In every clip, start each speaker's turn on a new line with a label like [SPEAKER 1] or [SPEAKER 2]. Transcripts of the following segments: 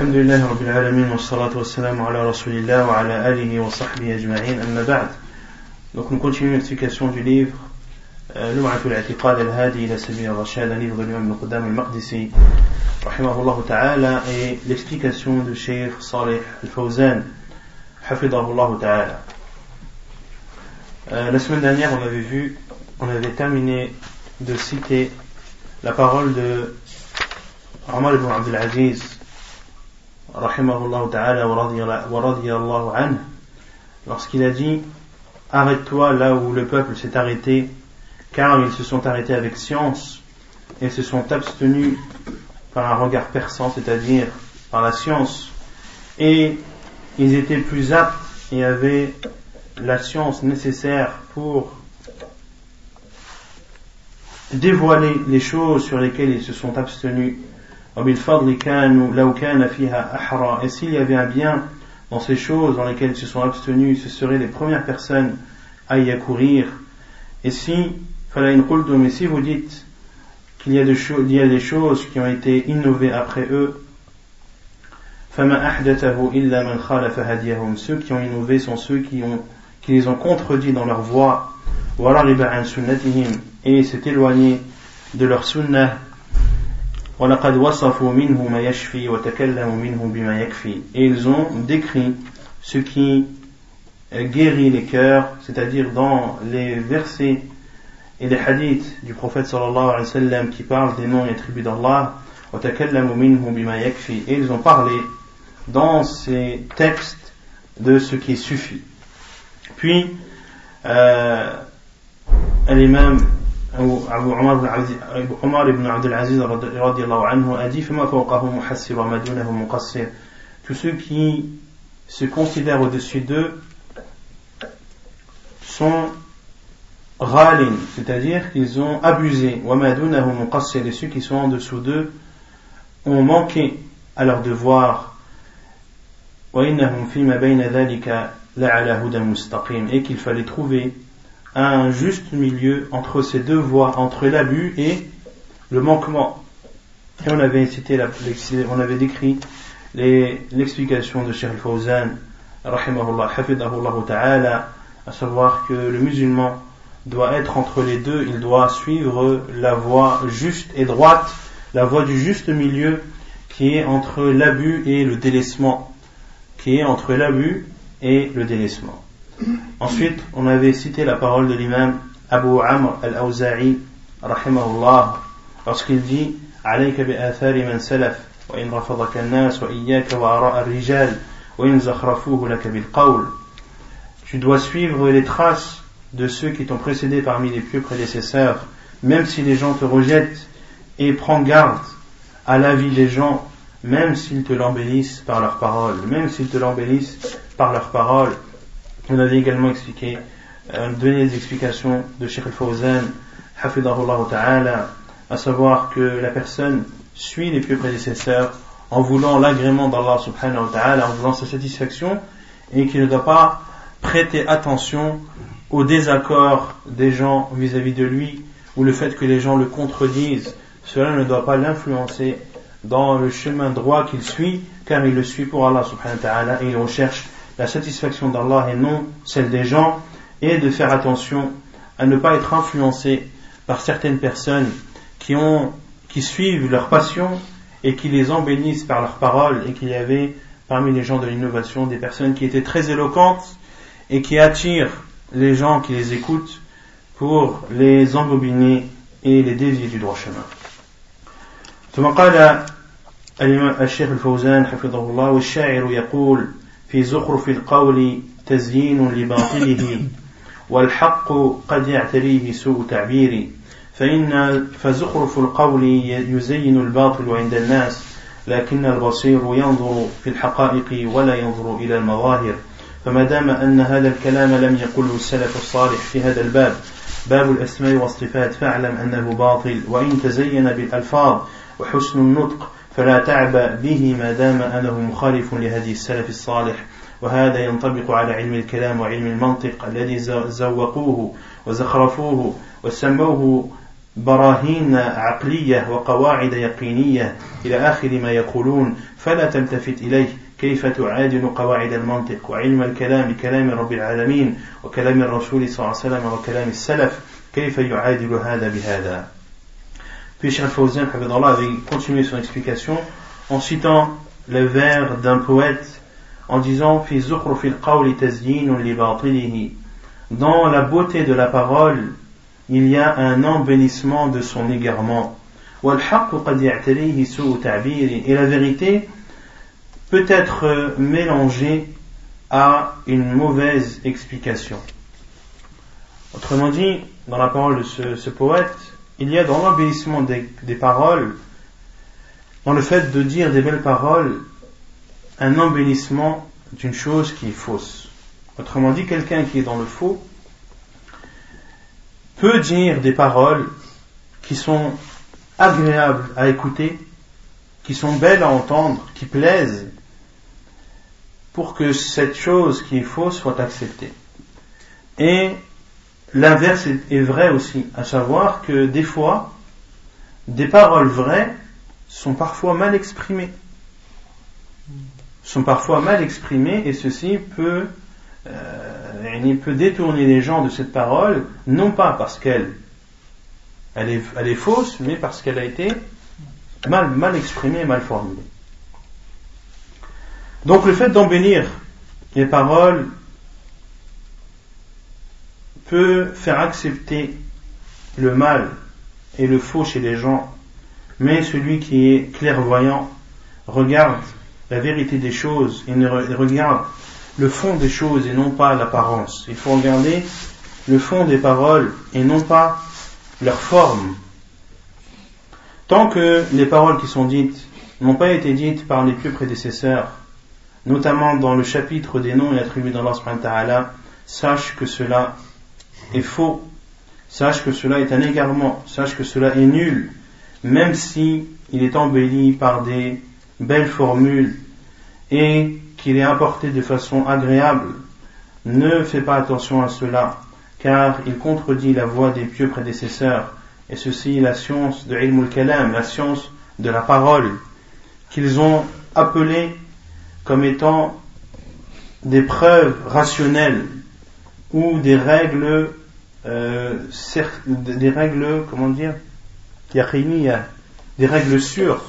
[SPEAKER 1] Alhamdulillah Rabbil Alamin wa salatu wa salamu ala Rasulillah wa ala alihi wa sahbihi ajma'in amma ba'd. Donc nous continuons l'explication du livre Lum'atul I'tiqad al-Hadi ila Sabil al-Rashad, un livre de l'imam Ibn Qudam al-Maqdisi rahimahullah ta'ala, et l'explication de Cheikh Salih al-Fawzan hafidahullah ta'ala. La semaine dernière on avait terminé de citer la parole de Omar ibn Abdul Aziz rahimahullah ta'ala wa radiyallahu anhu, lorsqu'il a dit: arrête-toi là où le peuple s'est arrêté, car ils se sont arrêtés avec science et se sont abstenus par un regard perçant, c'est-à-dire par la science, et ils étaient plus aptes et avaient la science nécessaire pour dévoiler les choses sur lesquelles ils se sont abstenus. Et s'il y avait un bien dans ces choses dans lesquelles ils se sont abstenus, ce seraient les premières personnes à y accourir. Et si vous dites qu'il y a des choses qui ont été innovées après eux, ceux qui ont innové sont ceux qui les ont contredits dans leur voie, et s'est éloigné de leur sunnah. Et ils ont décrit ce qui guérit les cœurs, c'est-à-dire dans les versets et les hadiths du prophète sallallahu alayhi wa sallam qui parlent des noms et attributs d'Allah, et ils ont parlé dans ces textes de ce qui suffit. Puis l'imam Omar ibn Abdul Aziz radiyallahu anhu a dit: tous ceux qui se considèrent au-dessus d'eux sont ghalin, c'est-à-dire qu'ils ont abusé, et ceux qui sont en dessous d'eux ont manqué à leur devoir, et qu'il fallait trouver un juste milieu entre ces deux voies, entre l'abus et le manquement. Et on avait décrit l'explication de Cheikh al-Fawzan rahimahullah hafidahullah ta'ala, à savoir que le musulman doit être entre les deux, il doit suivre la voie juste et droite, la voie du juste milieu qui est entre l'abus et le délaissement, Ensuite, on avait cité la parole de l'imam Abu Amr al-Awza'i rahimahullah, lorsqu'il dit: alayka bi athari man salaf wa in rafadaka an-nas wa iyyaka wa ara' ar-rijal wa in zakhrafuhu laka bil qawl. Tu dois suivre les traces de ceux qui t'ont précédé parmi les pieux prédécesseurs, même si les gens te rejettent, et prends garde à l'avis des gens, même s'ils te l'embellissent par leurs paroles. On avait également donné des explications de Cheikh al-Fawzan hafidahullah ta'ala, à savoir que la personne suit les pieux prédécesseurs en voulant l'agrément d'Allah subhanahu wa ta'ala, en voulant sa satisfaction, et qu'il ne doit pas prêter attention au désaccord des gens vis-à-vis de lui, ou le fait que les gens le contredisent. Cela ne doit pas l'influencer dans le chemin droit qu'il suit, car il le suit pour Allah subhanahu wa ta'ala, et il recherche la satisfaction d'Allah et non celle des gens, et de faire attention à ne pas être influencé par certaines personnes qui suivent leur passion et qui les embellissent par leurs paroles. Et qu'il y avait parmi les gens de l'innovation des personnes qui étaient très éloquentes et qui attirent les gens qui les écoutent pour les embobiner et les dévier du droit chemin. ثم قال الشيخ الفوزان حفظه الله: والشاعر يقول في زخرف القول تزيين لباطله والحق قد يعتريه سوء تعبير فزخرف القول يزين الباطل عند الناس لكن البصير ينظر في الحقائق ولا ينظر إلى المظاهر. فما دام أن هذا الكلام لم يقله السلف الصالح في هذا الباب، باب الأسماء والصفات، فاعلم أنه باطل، وإن تزين بالألفاظ وحسن النطق فلا تعبأ به ما دام أنه مخالف لهدي السلف الصالح. وهذا ينطبق على علم الكلام وعلم المنطق الذي زوقوه وزخرفوه وسموه براهين عقلية وقواعد يقينية إلى آخر ما يقولون فلا تلتفت إليه كيف تعادل قواعد المنطق وعلم الكلام كلام رب العالمين وكلام الرسول صلى الله عليه وسلم وكلام السلف كيف يعادل هذا بهذا. Puis Cheikh Al-Fawzan avait continué son explication en citant le vers d'un poète en disant في زخرف القول تزيين لباطله, dans la beauté de la parole il y a un embellissement de son égarement. والحق قد يعتريه سوء تعبير, et la vérité peut être mélangée à une mauvaise explication. Autrement dit, dans la parole de ce poète, il y a dans l'embellissement des paroles, dans le fait de dire des belles paroles, un embellissement d'une chose qui est fausse. Autrement dit, quelqu'un qui est dans le faux peut dire des paroles qui sont agréables à écouter, qui sont belles à entendre, qui plaisent, pour que cette chose qui est fausse soit acceptée. Et l'inverse est vrai aussi, à savoir que des fois, des paroles vraies sont parfois mal exprimées. Et ceci peut détourner les gens de cette parole, non pas parce qu'elle est fausse, mais parce qu'elle a été mal exprimée, mal formulée. Donc le fait d'embellir les paroles peut faire accepter le mal et le faux chez les gens, mais celui qui est clairvoyant regarde la vérité des choses et regarde le fond des choses et non pas l'apparence. Il faut regarder le fond des paroles et non pas leur forme. Tant que les paroles qui sont dites n'ont pas été dites par les pieux prédécesseurs, notamment dans le chapitre des noms et attributs d'Allah subhanahu wa ta'ala, sache que cela est faux, sache que cela est un égarement, sache que cela est nul, même si il est embelli par des belles formules et qu'il est apporté de façon agréable. Ne fais pas attention à cela, car il contredit la voie des pieux prédécesseurs, et ceci la science de ilm al-kalam, la science de la parole, qu'ils ont appelée comme étant des preuves rationnelles ou des règles yaqiniya, des règles sûres.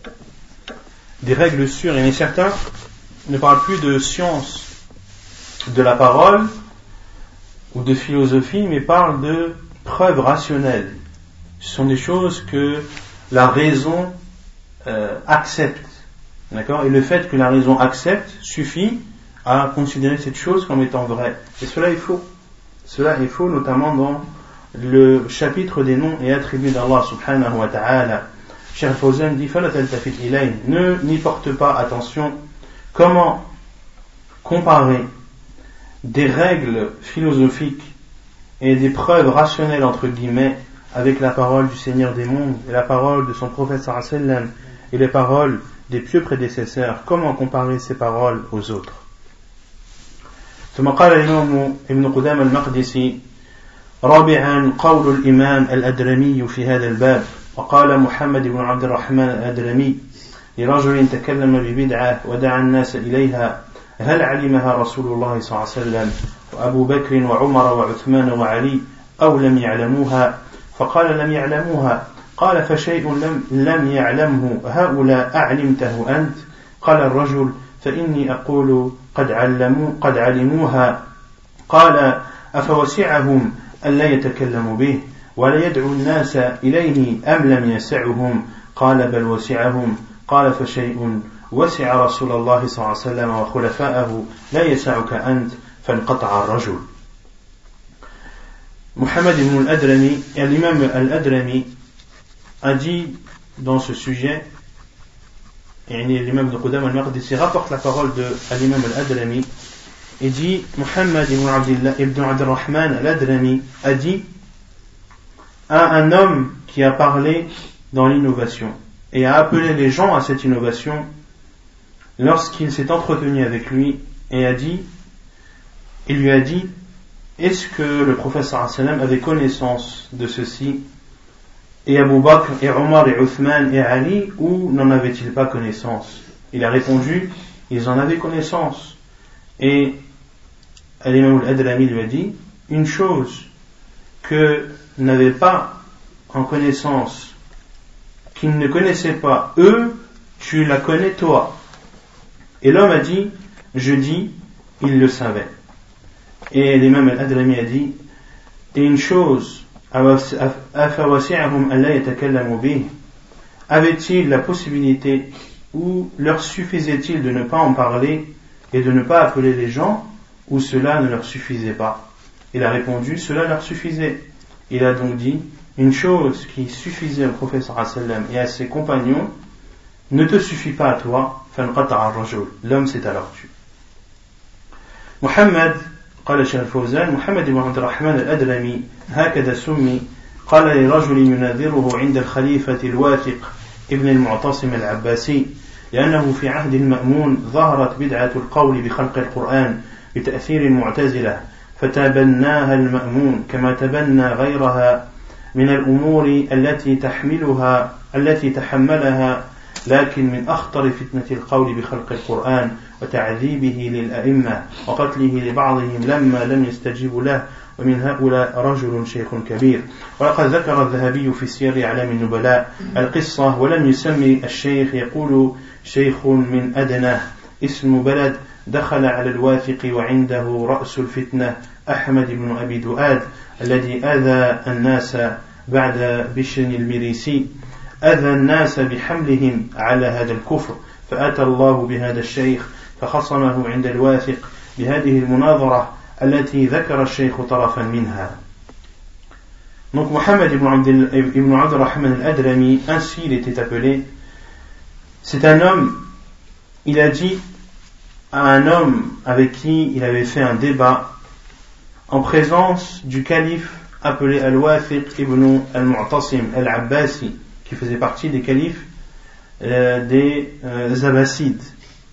[SPEAKER 1] Et certains ne parlent plus de science de la parole ou de philosophie, mais parlent de preuves rationnelles. Ce sont des choses que la raison accepte. D'accord ? Et le fait que la raison accepte suffit à considérer cette chose comme étant vraie. Et cela est faux. Cela est faux, notamment dans le chapitre des noms et attributs d'Allah subhanahu wa ta'ala. Cheikh Al-Fawzan dit n'y porte pas attention. Comment comparer des règles philosophiques et des preuves rationnelles entre guillemets avec la parole du Seigneur des mondes et la parole de son prophète sallallahu alayhi wa sallam et les paroles des pieux prédécesseurs? Comment comparer ces paroles aux autres? ثم قال الإمام ابن قدامة المقدسي رابعا قول الإمام الأدرمي في هذا الباب. وقال محمد بن عبد الرحمن الأدرمي لرجل تكلم ببدعة ودعا الناس إليها: هل علمها رسول الله صلى الله عليه وسلم وأبو بكر وعمر وعثمان وعلي أو لم يعلموها؟ فقال: لم يعلموها. قال: فشيء لم يعلمه هؤلاء أعلمته أنت؟ قال الرجل: فإني أقول قد علموها. قال: أفوسعهم ألا يتكلموا به ولا يدعو الناس إليه أم لم يسعهم؟ قال: بل وسعهم. قال: فشيء وسع رسول الله صلى الله عليه وسلم وخلفاءه لا يسعك أنت. فانقطع الرجل. Muhammad ibn al-Adrami, et l'imam al-Adrami a dit dans ce sujet, et l'imam de Qudam al-Maqdisi rapporte la parole de l'imam al-Adrami et dit: Muhammad ibn Abdurrahman al-Adrami a dit à un homme qui a parlé dans l'innovation et a appelé les gens à cette innovation lorsqu'il s'est entretenu avec lui et il lui a dit: est-ce que le prophète sallallahu alayhi wa sallam avait connaissance de ceci et Abu Bakr et Omar et Uthman et Ali, ou n'en avaient-ils pas connaissance? Il a répondu, ils en avaient connaissance. Et l'imam al-Adrami lui a dit, une chose que n'avaient pas en connaissance, qu'ils ne connaissaient pas eux, tu la connais toi. Et l'homme a dit, je dis, il le savait. Et l'imam al-Adrami a dit, et une chose, avait-il la possibilité ou leur suffisait-il de ne pas en parler et de ne pas appeler les gens, ou cela ne leur suffisait pas? Il a répondu, cela leur suffisait. Il a donc dit, une chose qui suffisait au prophète sallallahu alayhi wa sallam et à ses compagnons ne te suffit pas à toi, l'homme s'est alors tué. Muhammad, قال الشيخ الفوزان محمد بن عبد الرحمن الأدرمي هكذا سمي قال لرجل يناظره عند الخليفة الواثق ابن المعتصم العباسي لأنه في عهد المأمون ظهرت بدعة القول بخلق القرآن بتأثير المعتزلة فتبناها المأمون كما تبنى غيرها من الأمور التي تحملها لكن من أخطر فتنة القول بخلق القرآن وتعذيبه للأئمة وقتله لبعضهم لما لم يستجيبوا له ومن هؤلاء رجل شيخ كبير. ولقد ذكر الذهبي في سير أعلام النبلاء القصة ولم يسمي الشيخ، يقول شيخ من أدناه اسم بلد دخل على الواثق وعنده رأس الفتنة أحمد بن أبي دؤاد الذي أذى الناس بعد بشر المريسي، أذى الناس بحملهم على هذا الكفر، فأتى الله بهذا الشيخ فخصمه عند الواثق بهذه المناظرة التي ذكر الشيخ طرفا منها. Donc Mohammed ibn Abd al-Rahman al-Adrami, ainsi il était appelé, c'est un homme, il a dit à un homme avec qui il avait fait un débat en présence du calife appelé Al-Wathiq ibn al-Mu'tasim al-Abbasi, qui faisait partie des califes des Abbassides,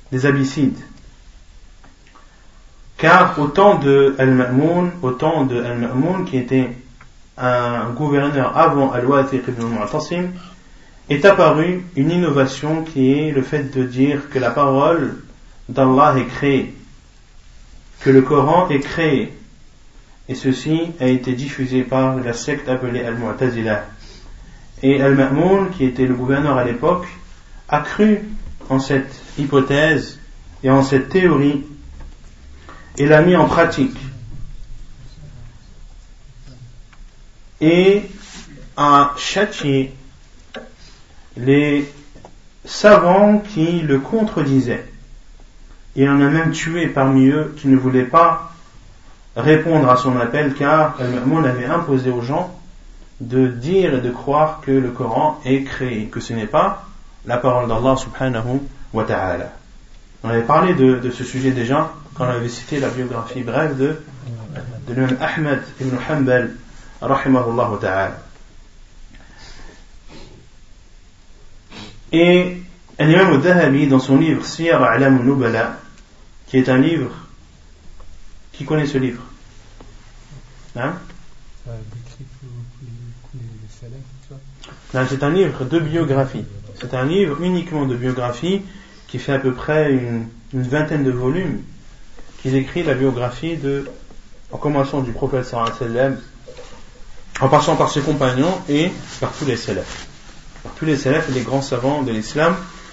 [SPEAKER 1] car au temps de Al-Ma'moun, qui était un gouverneur avant Al-Wathiq ibn al-Mu'tasim, est apparue une innovation qui est le fait de dire que la parole d'Allah est créée, que le Coran est créé, et ceci a été diffusé par la secte appelée Al-Mu'tazila. Et Al-Ma'moun, qui était le gouverneur à l'époque, a cru en cette hypothèse et en cette théorie et l'a mis en pratique et a châtié les savants qui le contredisaient. Il en a même tué parmi eux qui ne voulaient pas répondre à son appel, car Al-Ma'moun avait imposé aux gens de dire et de croire que le Coran est créé, que ce n'est pas la parole d'Allah subhanahu wa ta'ala. On avait parlé de ce sujet déjà quand on avait cité la biographie brève de l'imam Ahmad ibn Hanbal rahimahullah ta'ala. Et l'imam al-Dhahabi, dans son livre Siyar A'lam al-Nubala, qui est un livre, qui connaît ce livre? Hein? Non, c'est un livre de biographie. C'est un livre uniquement de biographie qui fait à peu près une vingtaine de volumes, qui décrit la biographie en commençant du prophète sallallahu alayhi wa sallam, en passant par ses compagnons et par tous les salafs. Par tous les salafs et les grands savants de l'islam,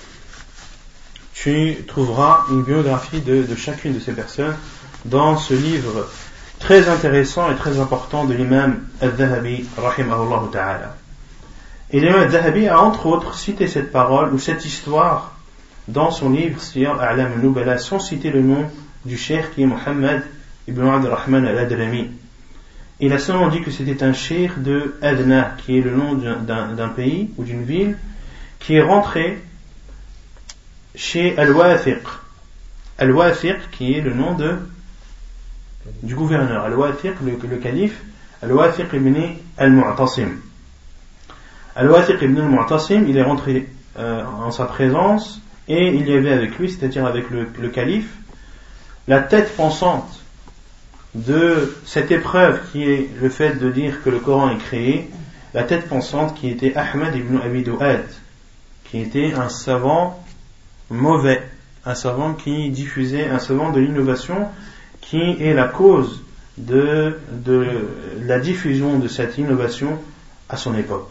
[SPEAKER 1] tu trouveras une biographie de chacune de ces personnes dans ce livre très intéressant et très important de l'imam al-Dhahabi rahimahullah ta'ala. Et l'imam al-Dhahabi a entre autres cité cette parole ou cette histoire dans son livre Siyar A'lam al-Nubala, sans citer le nom du cheikh qui est Muhammad ibn Abd al-Rahman al-Adrami. Il a seulement dit que c'était un cheikh de Adna, qui est le nom d'un pays ou d'une ville, qui est rentré chez Al-Wathiq. Al-Wathiq qui est le nom du gouverneur. Al-Wathiq, le calife, Al-Wathiq ibn al-Mu'tasim. Al-Wathiq ibn al-Mu'tasim, il est rentré en sa présence et il y avait avec lui, c'est-à-dire avec le calife, la tête pensante de cette épreuve qui est le fait de dire que le Coran est créé la tête pensante qui était Ahmad ibn Abi Du'ad, qui était un savant mauvais, un savant qui diffusait, un savant de l'innovation qui est la cause de la diffusion de cette innovation à son époque.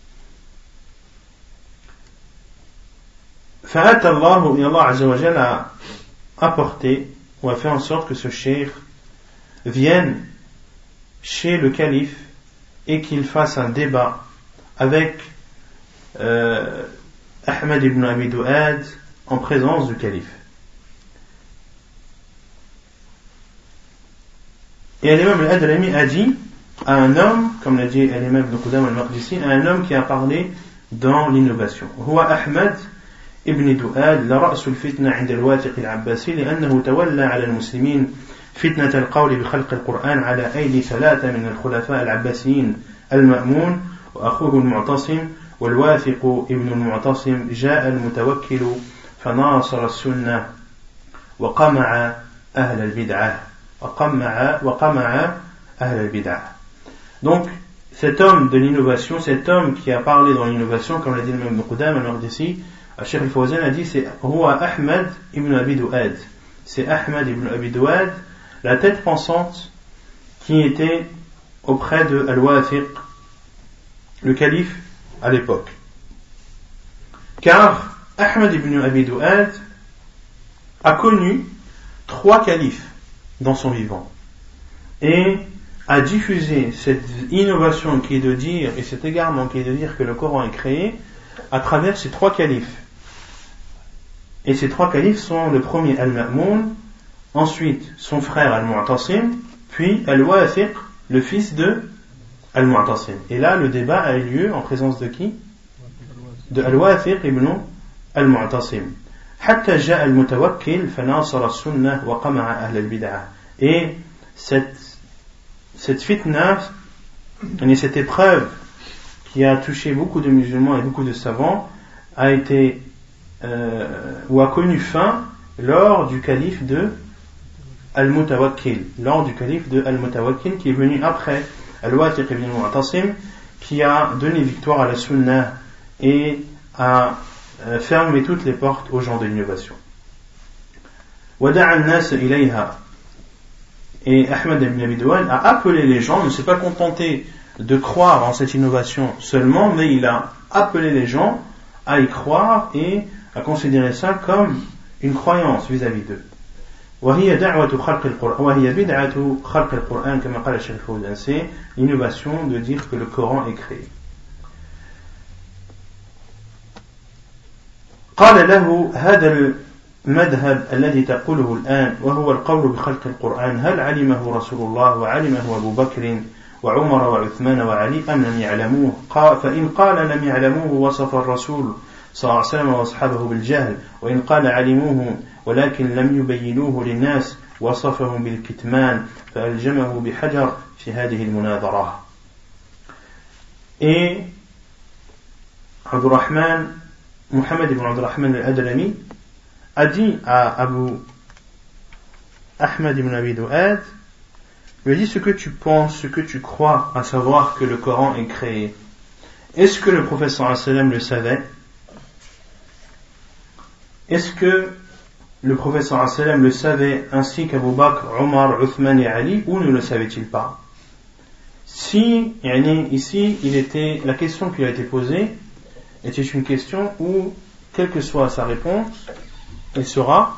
[SPEAKER 1] Fa'at Allah, et Allah Azza wa Jal a apporté ou a fait en sorte que ce cheikh vienne chez le calife et qu'il fasse un débat avec Ahmad ibn Abi Du'ad en présence du calife. Et l'imam al-Adrami a dit à un homme, comme l'a dit l'imam ibn Qudam al-Maqdisi, à un homme qui a parlé dans l'innovation. Huwa Ahmad ibn Du'ad la ra'su al-fitna 'inda al-Wathiq al-Abbasi لأنه تولى على المسلمين فتنة القول بخلق القرآن على أيدي ثلاثة من الخلفاء العباسيين المأمون وأخوه المعتصم والواثق ابن المعتصم جاء المتوكل فناصر السنة وقمع أهل البدعة وقمع أهل البدعة. Donc cet homme de l'innovation, cet homme qui a parlé dans l'innovation, comme l'a dit le même Ibn Qudam al-Maqdisi, Cheikh al-Fawzan a dit c'est Huwa Ahmad ibn Abi Du'ad, c'est Ahmad ibn Abi Du'ad, la tête pensante qui était auprès de Al-Wathiq, le calife à l'époque. Car Ahmad ibn Abi Du'ad a connu 3 califes dans son vivant et a diffusé cette innovation qui est de dire, et cet égarement qui est de dire que le Coran est créé à travers ces 3 califes. Et ces 3 califes sont le premier Al-Ma'moun, ensuite son frère Al-Mu'tasim, puis Al-Wathiq, le fils de Al-Mu'tasim. Et là, le débat a eu lieu en présence de qui? De Al-Wathiq ibn Al-Mu'tasim. حتى جاء المتوكل فناصر السنة وقمع أهل البدعة. Et cette fitna, cette épreuve qui a touché beaucoup de musulmans et beaucoup de savants, a été ou a connu fin lors du calife de Al-Mutawakkil, qui est venu après Al-Wathiq ibn al-Mu'tasim, qui a donné victoire à la Sunna et a fermé toutes les portes aux gens de l'innovation. Wada'a an-nas ilayha. Et Ahmad ibn Abi Du'ad a appelé les gens, ne s'est pas contenté de croire en cette innovation seulement, mais il a appelé les gens à y croire et à considérer ça comme une croyance vis-à-vis d'eux. وهي دعوة خلق القرآن وهي بدعة خلق القرآن كما قال الشيخ الفوزان. C'est l'innovation de dire que le Coran est créé. قال له هذا المذهب الذي تقوله الآن وهو القول بخلق القرآن هل علمه رسول الله وعلمه أبو بكر وعمر وعثمان وعلي أم لم يعلموه؟ فإن قال لم يعلموه وصف الرسول صلى الله عليه وسلم وأصحابه بالجهل، وإن قال علموه ولكن لم يبينوه للناس وصفهم بالكتمان فألجمه بحجر في هذه المناظرة. Et Muhammad ibn Abdurrahman al-Adrami a dit à Abu Ahmad ibn Abi Du'ad, lui a dit ce que tu penses, ce que tu crois, à savoir que le Coran est créé. Est-ce que le prophète sallallahu alayhi wa sallam le savait? Est-ce que le prophète sallallahu alayhi wa sallam le savait ainsi qu'Abu Bakr, Omar, Uthman et Ali, ou ne le savait-il pas? Si, ici, la question qui a été posée était une question où, quelle que soit sa réponse, il sera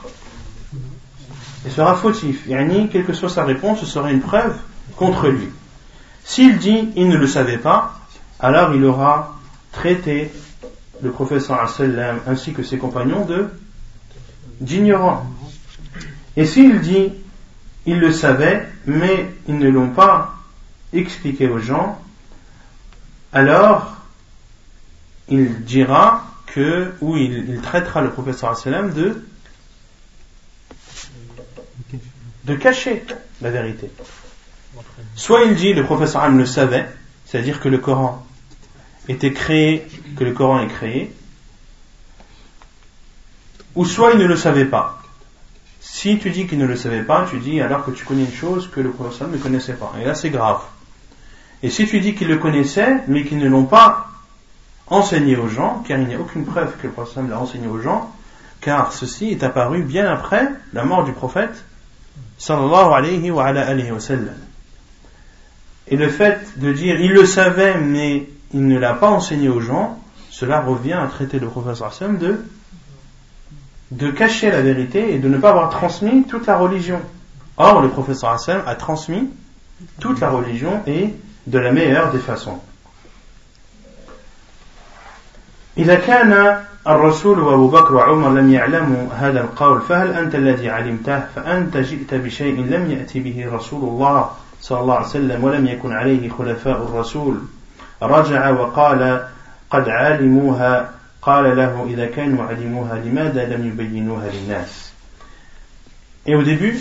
[SPEAKER 1] fautif. Quelle que soit sa réponse, ce sera une preuve contre lui. S'il dit il ne le savait pas, alors il aura traité le prophète sallallahu alayhi wa sallam ainsi que ses compagnons d'ignorants. Et s'il dit il le savait, mais ils ne l'ont pas expliqué aux gens, alors il dira ou il traitera le prophète sallallahu alayhi wa sallam de cacher la vérité. Soit il dit le prophète sallallahu alayhi wa sallam le savait, c'est-à-dire que le Coran était créé, que le Coran est créé, ou soit il ne le savait pas. Si tu dis qu'il ne le savait pas, tu dis alors que tu connais une chose que le prophète sallallahu alayhi wa sallam ne connaissait pas. Et là c'est grave. Et si tu dis qu'ils le connaissaient, mais qu'ils ne l'ont pas enseigné aux gens, car il n'y a aucune preuve que le prophète l'a enseigné aux gens, car ceci est apparu bien après la mort du prophète sallallahu alayhi wa sallam. Et le fait de dire il le savait mais il ne l'a pas enseigné aux gens, cela revient à traiter le prophète sallallahu alayhi wa sallam de cacher la vérité et de ne pas avoir transmis toute la religion. Or le prophète sallallahu alayhi wa sallam a transmis toute la religion et de la meilleure des façons. إذا كان الرسول وأبو بكر وعمر لم يعلموا هذا القول فهل أنت الذي علمته فأنت جئت بشيء لم يأتي به رسول الله صلى الله عليه وسلم ولم يكن عليه خلفاء الرسول رجع وقال قد علموها قال له إذا كانوا علموها لماذا لم يبينوها للناس. Et au début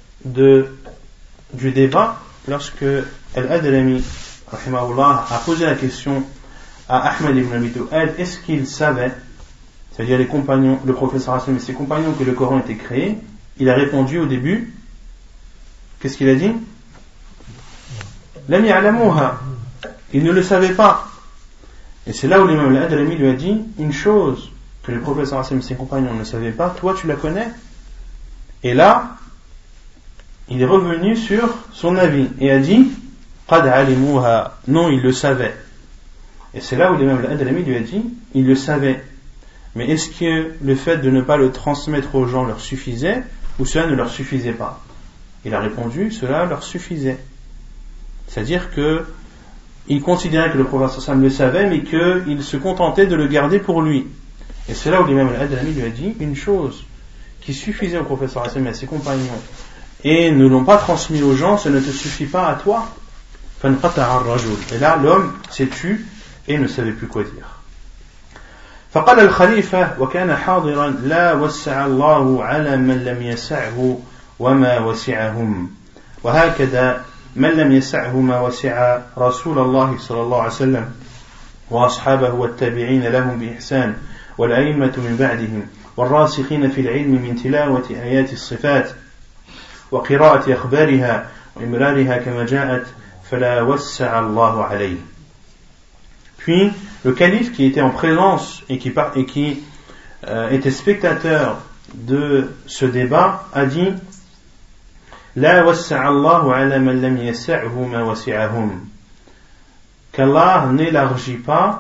[SPEAKER 1] du débat, lorsque Al-Adrami rahimahullah a posé la question à Ahmed ibn Abi Du'ad, est-ce qu'il savait, c'est-à-dire les compagnons, le prophète sallallahu alayhi wa sallam et ses compagnons, que le Coran était créé, il a répondu au début, qu'est-ce qu'il a dit? Lam ya'lamuha, il ne le savait pas. Et c'est là où l'imam al-Adrami lui a dit une chose que le prophète sallallahu alayhi wa sallam et ses compagnons ne savaient pas, toi tu la connais. Et là il est revenu sur son avis et a dit qad alimuha, non, il le savait. Et c'est là où l'imam al-Adrami lui a dit il le savait, mais est-ce que le fait de ne pas le transmettre aux gens leur suffisait ou cela ne leur suffisait pas? Il a répondu cela leur suffisait, c'est-à-dire que il considérait que le prophète sallallahu alayhi wa sallam le savait mais qu'il se contentait de le garder pour lui. Et c'est là où l'imam al-Adrami lui a dit une chose qui suffisait au prophète sallallahu alayhi wa sallam et à ses compagnons et ne l'ont pas transmis aux gens, ça ne te suffit pas à toi. Et là l'homme s'est tu et ne savait plus quoi dire. فقال الخليفة وكان حاضرا لا وسع الله على من لم يسعه وما وسعهم وهكذا من لم يسعه ما وسع رسول الله صلى الله عليه وسلم وأصحابه والتابعين لهم بإحسان والأئمة من بعدهم والراسخين في العلم من تلاوة آيات الصفات وقراءة أخبارها وإمرارها كما جاءت فلا وسع الله عليه. Puis le calife qui était en présence et qui était spectateur de ce débat a dit La wassa'a Allahu ala man lam yas'ahu ma wasi'ahum, qu'Allah n'élargit pas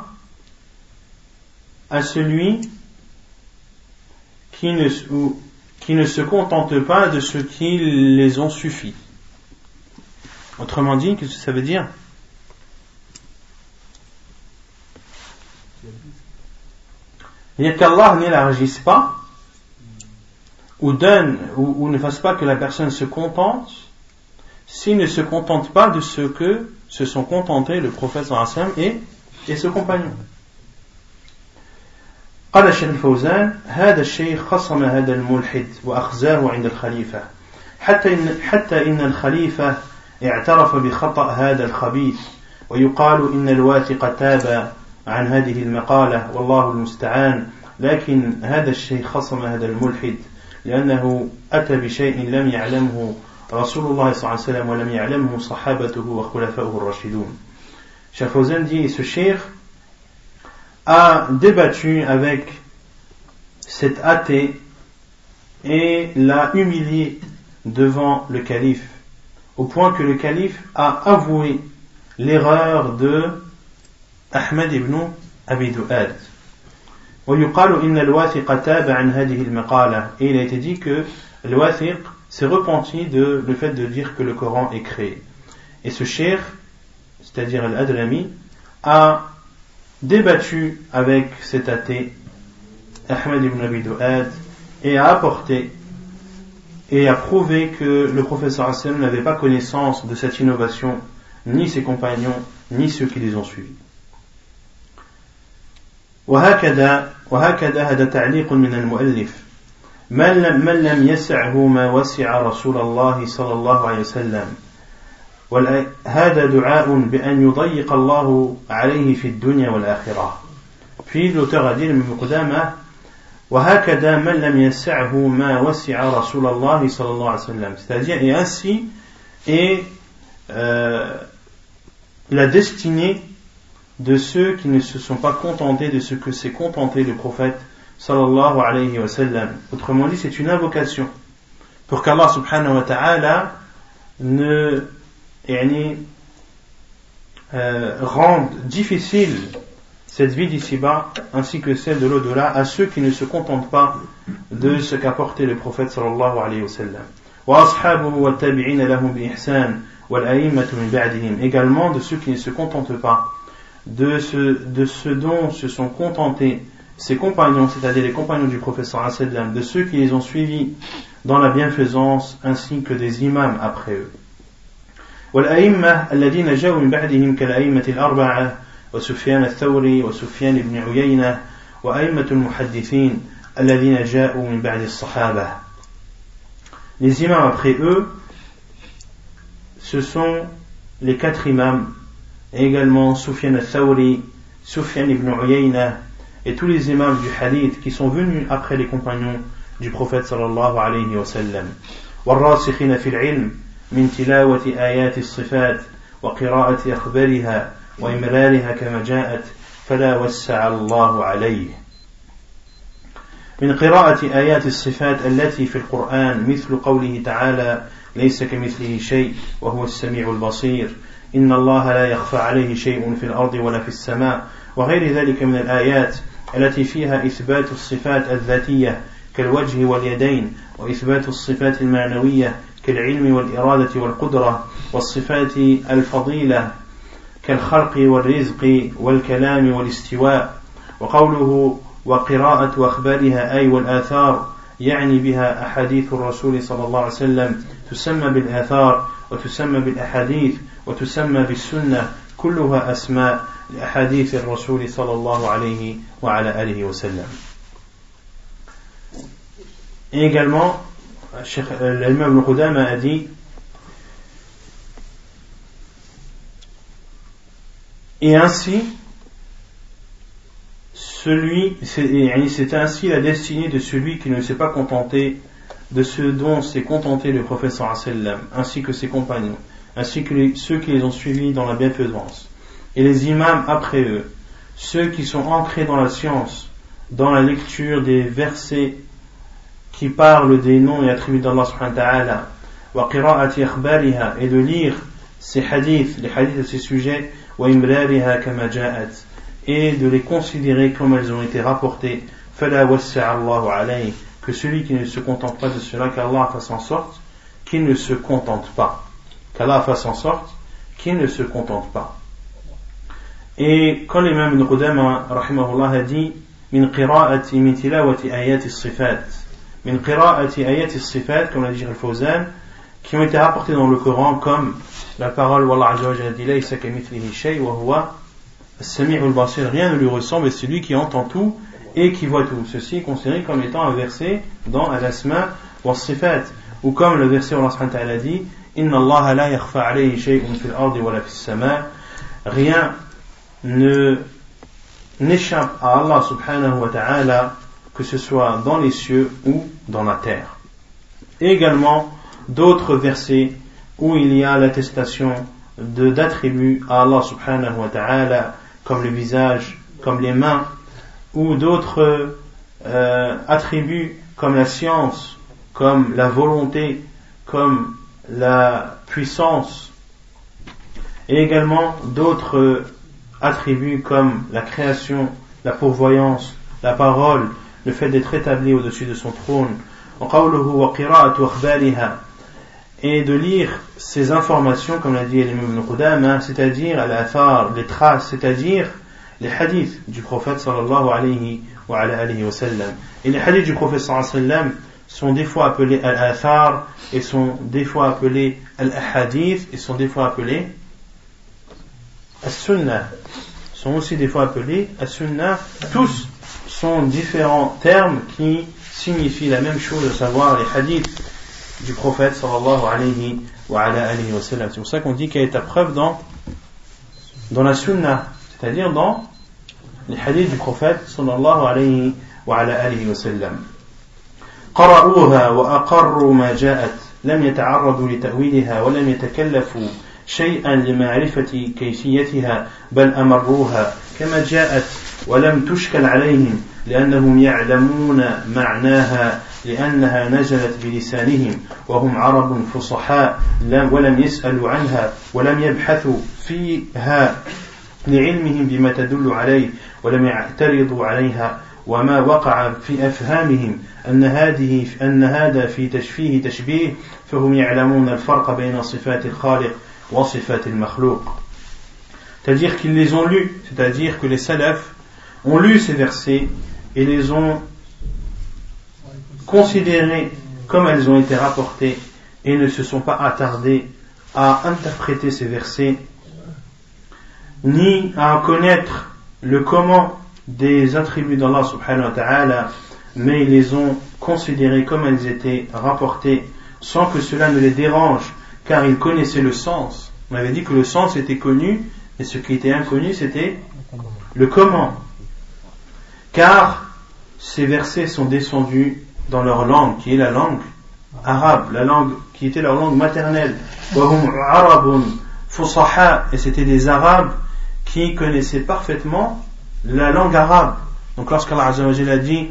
[SPEAKER 1] à celui qui ne se contente pas de ce qui les ont suffi. Autrement dit, qu'est-ce que ça veut dire? C'est-à-dire qu'Allah n'élargisse pas ou donne ou ne fasse pas que la personne se contente s'il ne se contente pas de ce que se sont contentés le prophète sallallahu alayhi wa sallam et ses compagnons. قال الشيخ الفوزان هذا الشيخ خصم هذا الملحد وأخزاه عند الخليفة حتى إن الخليفة اعترف بخطأ هذا الخبيث ويقال إن الواثق تاب عن هذه المقالة والله المستعان لكن هذا الشيخ خصم هذا الملحد لأنه أتى بشيء لم يعلمه رسول الله صلى الله عليه وسلم ولم يعلمه صحابته وخلفاؤه الراشدون. Cheikh Fawzan dit ce cheikh a débattu avec cet athée et l'a humilié devant le calife au point que le calife a avoué l'erreur de Ahmed ibn Abi Du'ad. ويقال إن الواثق تاب عن هذه المقالة, et il a été dit que le wathiq s'est repenti de le fait de dire que le Coran est créé. Et ce cheikh, c'est-à-dire Al-Adrami, a débattu avec cet athée Ahmed ibn Abi Du'ad et a apporté et a prouvé que le prophète sallallahu alayhi wa sallam n'avait pas connaissance de cette innovation, ni ses compagnons, ni ceux qui les ont suivis. وهكذا هذا تعليق من المؤلف من لم يسعه ما وسع رسول الله صلى الله عليه وسلم هذا دعاء بأن يضيق الله عليه في الدنيا والآخرة. Puis l'auteur a dit وهكذا من لم يسعه ما وسع رسول الله صلى الله عليه وسلم, c'est-à-dire et ainsi et la destinée de ceux qui ne se sont pas contentés de ce que s'est contenté le prophète sallallahu alayhi wa sallam. Autrement dit, c'est une invocation pour qu'Allah subhanahu wa ta'ala ne rende difficile cette vie d'ici-bas ainsi que celle de l'au-delà à ceux qui ne se contentent pas de ce qu'a porté le prophète sallallahu alayhi wa sallam. Wa ashabuhu wa tabi'ina lahum bi ihsan wal a'immatu min ba'dihim, également de ceux qui ne se contentent pas de ce dont se sont contentés ses compagnons, c'est-à-dire les compagnons du prophète sallallahu alayhi wa sallam, de ceux qui les ont suivis dans la bienfaisance, ainsi que des imams après eux. والأئمة الذين جاءوا من بعدهم كالأئمة الأربعة وسفيان الثوري وسفيان بن عيينة وأئمة المحدثين الذين جاءوا من بعد الصحابة. Les imams après eux, ce sont les 4 imams, et également Sufyan al-Thawri, Sufyan ibn Uyayna, et tous les imams du hadith qui sont venus après les compagnons du prophète sallallahu alayhi wa sallam. والراسخين في العلم من تلاوة آيات الصفات وقراءة أخبارها وإمرارها كما جاءت فلا وسع الله عليه. من قراءة آيات الصفات التي في القرآن مثل قوله تعالى ليس كمثله شيء وهو السميع البصير إن الله لا يخفى عليه شيء في الأرض ولا في السماء وغير ذلك من الآيات التي فيها إثبات الصفات الذاتية كالوجه واليدين وإثبات الصفات المعنوية كالعلم والإرادة والقدرة والصفات الفضيلة كالخلق والرزق والكلام والاستواء. وقوله وقراءة أخبارها أي والآثار يعني بها أحاديث الرسول صلى الله عليه وسلم تسمى بالآثار وتسمى بالأحاديث وتسمى بالسنة كلها أسماء لأحاديث الرسول صلى الله عليه وعلى آله وسلم. Et également, l'imam Ibn Qudama a dit, et ainsi, c'est ainsi la destinée de celui qui ne s'est pas contenté de ce dont s'est contenté le prophète sallallahu alayhi wa sallam, ainsi que ses compagnons, ainsi que ceux qui les ont suivis dans la bienfaisance, et les imams après eux, ceux qui sont ancrés dans la science, dans la lecture des versets qui parlent des noms et attributs d'Allah subhanahu wa ta'ala, wa qira'ati akhbariha, et de lire ces hadiths, les hadiths de ces sujets, wa imrariha kama ja'at, et de les considérer comme elles ont été rapportées, fala wassa Allahu alayhi, que celui qui ne se contente pas de cela, qu'Allah fasse en sorte qu'il ne se contente pas, qu'Allah fasse en sorte qu'il ne se contente pas. Et quand l'imam Ibn Qudama rahimahullah a dit min qira'ati min tilawati ayati as-sifat, min qira'ati ayati as-sifat, comme l'a dit Al-Fawzan, qui ont été rapportés dans le Coran comme la parole où Allah azza wa jalla dit laysa kamithlihi shay wa huwa as-sami'ul basir, rien ne lui ressemble et c'est lui qui entend tout et qui voit tout. Ceci est considéré comme étant un verset dans Al-Asma wa as-Sifat, ou comme le verset où Allah subhanahu wa ta'ala dit inna Allah la yakhfa alayhi shay'un fil ardi wa la fis sama', rien n'échappe à Allah subhanahu wa ta'ala, que ce soit dans les cieux ou dans la terre. Et également d'autres versets où il y a l'attestation d'attributs à Allah subhanahu wa ta'ala, comme le visage, comme les mains, ou d'autres attributs comme la science, comme la volonté, comme la puissance, et également d'autres attributs comme la création, la pourvoyance, la parole, le fait d'être établi au-dessus de son trône, et de lire ces informations, comme l'a dit l'imam Ibn Qudama, c'est-à-dire al-athar, les traces, c'est-à-dire les hadiths du prophète sallallahu alayhi wa sallam. Et les hadiths du prophète sallallahu alayhi wa sallam sont des fois appelés al-athar, et sont des fois appelés al-ahadith, et sont des fois appelés as-sunnah, sont aussi des fois appelés as-sunnah. Tous sont différents termes qui signifient la même chose, à savoir les hadiths du prophète sallallahu alayhi wa sallam. C'est pour ça qu'on dit qu'il y a ta preuve dans la sunnah, c'est-à-dire dans les hadiths du prophète sallallahu alayhi wa sallam. قرأوها وأقروا ما جاءت لم يتعرضوا لتأويلها ولم يتكلفوا شيئا لمعرفة كيفيتها بل أمروها كما جاءت ولم تشكل عليهم لأنهم يعلمون معناها لأنها نزلت بلسانهم وهم عرب فصحاء ولم يسألوا عنها ولم يبحثوا فيها لعلمهم بما تدل عليه ولم يعترضوا عليها وما وقع في أفهامهم أن هذا فيه تشبيه فهم يعلمون الفرق بين صفات الخالق وصفات المخلوق. C'est-à-dire qu'ils les ont lus, c'est-à-dire que les salafs ont lu ces versets et les ont considérés comme elles ont été rapportées et ne se sont pas attardés à interpréter ces versets ni à connaître le comment des attributs d'Allah subhanahu wa ta'ala, mais ils les ont considérés comme elles étaient rapportées sans que cela ne les dérange car ils connaissaient le sens. On avait dit que le sens était connu et ce qui était inconnu c'était le comment, car ces versets sont descendus dans leur langue qui est la langue arabe, la langue qui était leur langue maternelle. وَهُمْ عَرَبٌ فُصَحَاء, et c'était des arabes qui connaissaient parfaitement la langue arabe. Donc lorsqu'Allah Azza wa Jalla a dit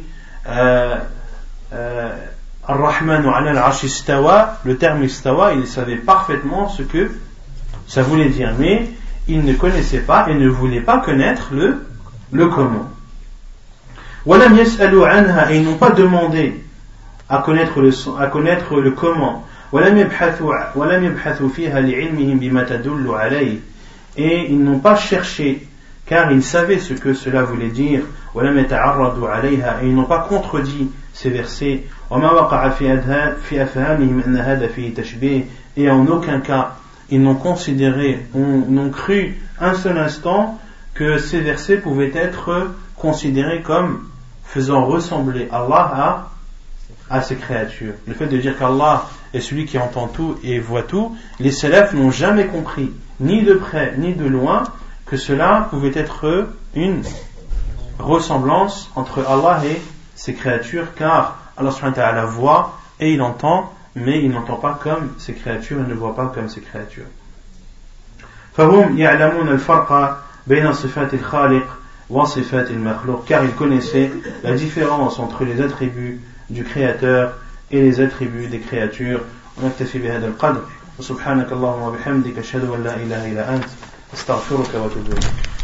[SPEAKER 1] Ar-Rahmanu ala al-Arsh istawa, le terme istawa, il savait parfaitement ce que ça voulait dire, mais il ne connaissait pas et ne voulait pas connaître le comment. وَلَمْ يَسْأَلُوا عَنْهَا, et ils n'ont pas demandé à connaître le comment. وَلَمْ يَبْحَثُوا فِيهَا لِعِلْمِهِمْ بِمَا تَدُلُّ عَلَيْهِ, et ils n'ont pas cherché car ils savaient ce que cela voulait dire. وَلَمْ يَتَعَرَّضُوا عَلَيْهَا, et ils n'ont pas contredit ces versets. وَمَا وَقَعَ فِي أَفْهَامِهِمْ أَنَّ هَذَا فِيهِ تَشْبِيهٌ, et en aucun cas ils n'ont considéré, n'ont cru un seul instant que ces versets pouvaient être considérés comme faisant ressembler Allah à ses créatures. Le fait de dire qu'Allah est celui qui entend tout et voit tout, les salafs n'ont jamais compris, ni de près ni de loin, que cela pouvait être une ressemblance entre Allah et ses créatures, car Allah subhanahu wa ta'ala voit et il entend, mais il n'entend pas comme ses créatures et ne voit pas comme ses créatures. فهم يعلمون الفرق بين صفات الخالق وصفات المخلوق, car ils connaissaient la différence entre les attributs du créateur et les attributs des créatures. ونكتفي بهذا القدر وسبحانك اللهم وبحمدك أشهد أن لا إله إلا أنت أستغفرك وأتوب إليك.